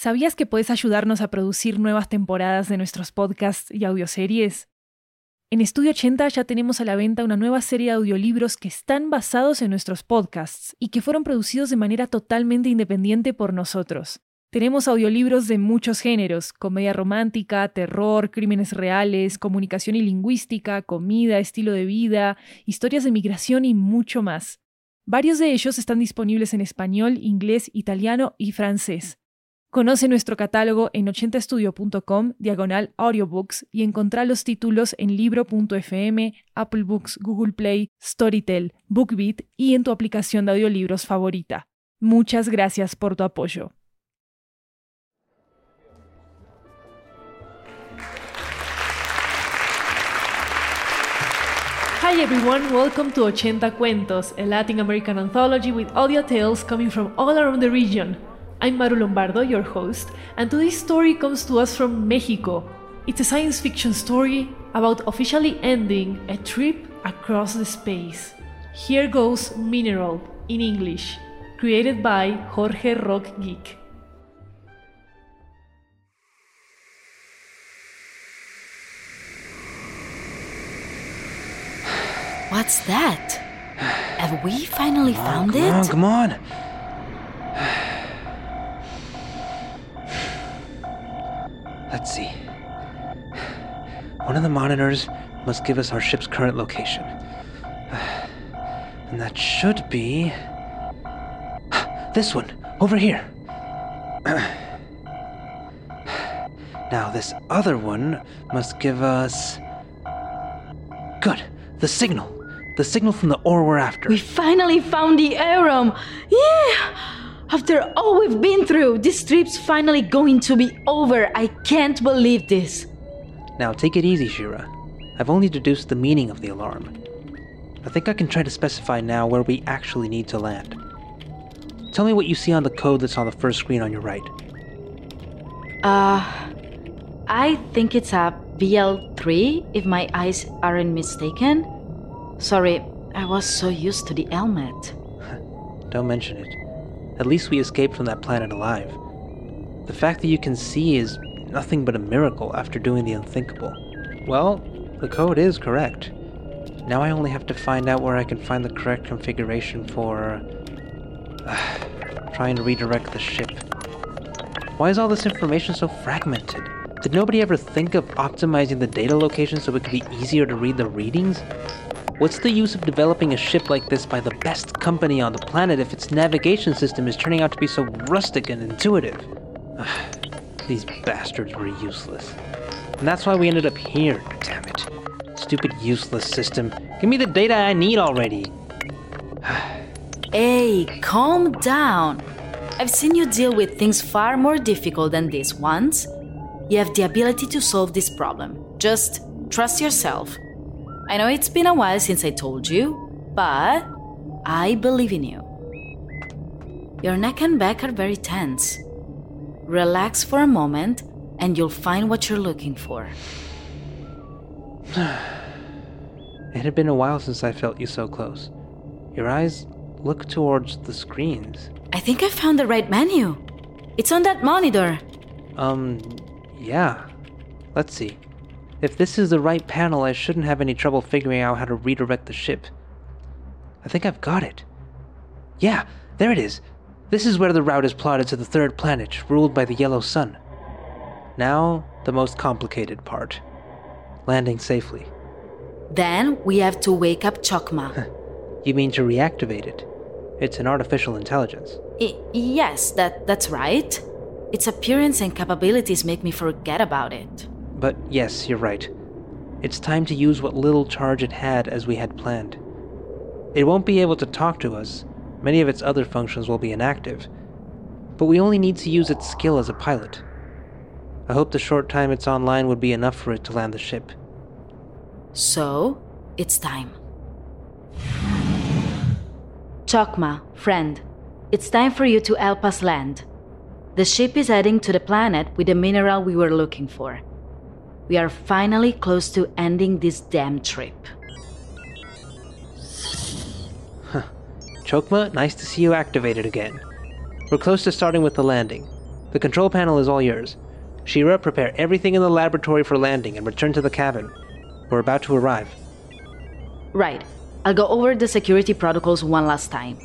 ¿Sabías que puedes ayudarnos a producir nuevas temporadas de nuestros podcasts y audioseries? En Estudio 80 ya tenemos a la venta una nueva serie de audiolibros que están basados en nuestros podcasts y que fueron producidos de manera totalmente independiente por nosotros. Tenemos audiolibros de muchos géneros: comedia romántica, terror, crímenes reales, comunicación y lingüística, comida, estilo de vida, historias de migración y mucho más. Varios de ellos están disponibles en español, inglés, italiano y francés. Conoce nuestro catálogo en 80estudio.com/audiobooks y encontrá los títulos en libro.fm, Apple Books, Google Play, Storytel, BookBeat y en tu aplicación de audiolibros favorita. Muchas gracias por tu apoyo. Hi everyone, welcome to 80 Cuentos, a Latin American anthology with audio tales coming from all around the region. I'm Maru Lombardo, your host, and today's story comes to us from Mexico. It's a science fiction story about officially ending a trip across the space. Here goes Mineral, in English, created by Jorge Rock Geek. What's that? Have we finally found it? Come on. Let's see. One of the monitors must give us our ship's current location. And that should be... this one, over here. Now this other one must give us... good, the signal. The signal from the ore we're after. We finally found the Aerom! Yeah! After all we've been through, this trip's finally going to be over. I can't believe this. Now take it easy, Shira. I've only deduced the meaning of the alarm. I think I can try to specify now where we actually need to land. Tell me what you see on the code that's on the first screen on your right. I think it's a BL3, if my eyes aren't mistaken. Sorry, I was so used to the helmet. Don't mention it. At least we escaped from that planet alive. The fact that you can see is nothing but a miracle after doing the unthinkable. Well, the code is correct. Now I only have to find out where I can find the correct configuration for... trying to redirect the ship. Why is all this information so fragmented? Did nobody ever think of optimizing the data location so it could be easier to read the readings? What's the use of developing a ship like this by the best company on the planet if its navigation system is turning out to be so rustic and intuitive? These bastards were useless. And that's why we ended up here, damn it. Stupid useless system. Give me the data I need already. Hey, calm down. I've seen you deal with things far more difficult than this once. You have the ability to solve this problem. Just trust yourself. I know it's been a while since I told you, but I believe in you. Your neck and back are very tense. Relax for a moment and you'll find what you're looking for. It had been a while since I felt you so close. Your eyes look towards the screens. I think I found the right menu. It's on that monitor. Yeah. Let's see. If this is the right panel, I shouldn't have any trouble figuring out how to redirect the ship. I think I've got it. Yeah, there it is. This is where the route is plotted to the third planet, ruled by the yellow sun. Now, the most complicated part. Landing safely. Then we have to wake up Chokma. You mean to reactivate it? It's an artificial intelligence. Yes, that's right. Its appearance and capabilities make me forget about it. But yes, you're right. It's time to use what little charge it had as we had planned. It won't be able to talk to us. Many of its other functions will be inactive. But we only need to use its skill as a pilot. I hope the short time it's online would be enough for it to land the ship. So, it's time. Chokma, friend, it's time for you to help us land. The ship is heading to the planet with the mineral we were looking for. We are finally close to ending this damn trip. Chokma, nice to see you activated again. We're close to starting with the landing. The control panel is all yours. Shira, prepare everything in the laboratory for landing and return to the cabin. We're about to arrive. Right. I'll go over the security protocols one last time.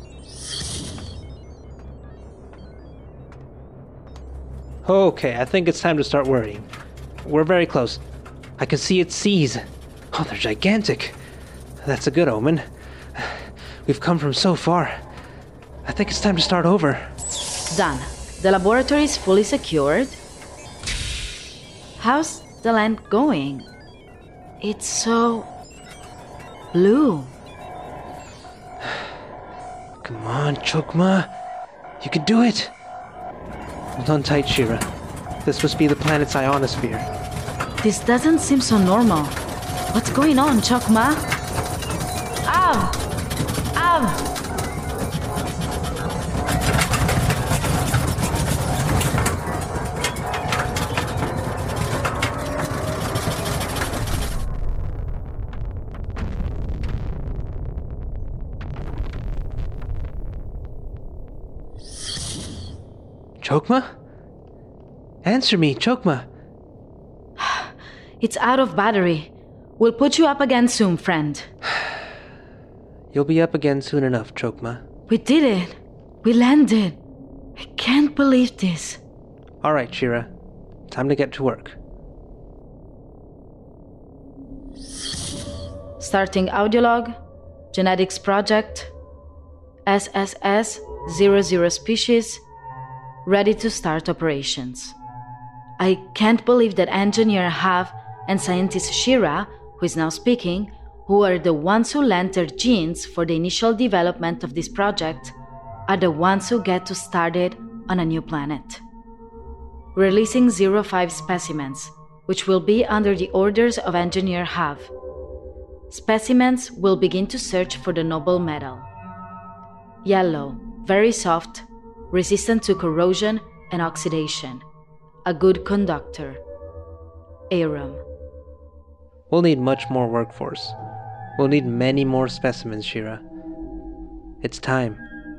Okay, I think it's time to start worrying. We're very close. I can see its seas. Oh, they're gigantic. That's a good omen. We've come from so far. I think it's time to start over. Done. The laboratory is fully secured. How's the land going? It's so... blue. Come on, Chokma. You can do it. Hold on tight, Shira. This must be the planet's ionosphere. This doesn't seem so normal. What's going on, Chokma? Av! Chokma? Answer me, Chokma. It's out of battery. We'll put you up again soon, friend. You'll be up again soon enough, Chokma. We did it. We landed. I can't believe this. All right, Shira. Time to get to work. Starting audiolog, genetics project, SSS-00 species, ready to start operations. I can't believe that Engineer Hav and scientist Shira, who is now speaking, who are the ones who lent their genes for the initial development of this project, are the ones who get to start it on a new planet. Releasing 05 specimens, which will be under the orders of Engineer Hav. Specimens will begin to search for the noble metal. Yellow, very soft, resistant to corrosion and oxidation. A good conductor. Arum. We'll need much more workforce. We'll need many more specimens, Shira. It's time.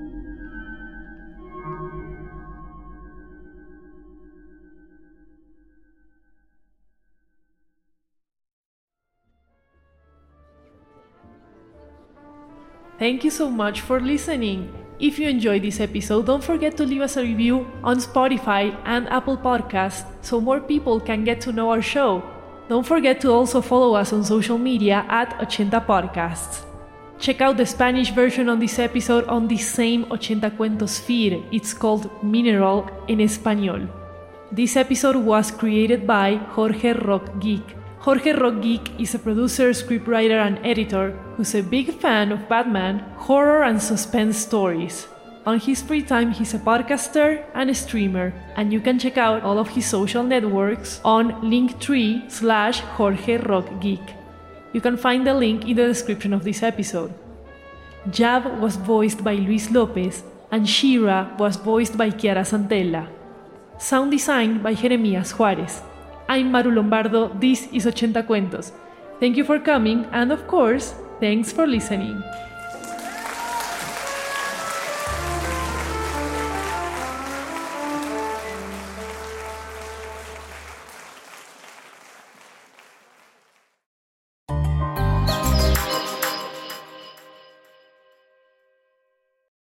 Thank you so much for listening. If you enjoyed this episode, don't forget to leave us a review on Spotify and Apple Podcasts so more people can get to know our show. Don't forget to also follow us on social media at 80 Podcasts. Check out the Spanish version on this episode on the same 80 Cuentos feed. It's called Mineral en Español. This episode was created by Jorge Rock Geek. Jorge Rock Geek is a producer, scriptwriter, and editor who's a big fan of Batman, horror, and suspense stories. On his free time, he's a podcaster and a streamer, and you can check out all of his social networks on Linktree/Jorge Rock Geek. You can find the link in the description of this episode. Jav was voiced by Luis Lopez, and Shira was voiced by Chiara Santella. Sound design by Jeremías Juárez. I'm Maru Lombardo, this is 80 Cuentos. Thank you for coming, and of course, thanks for listening.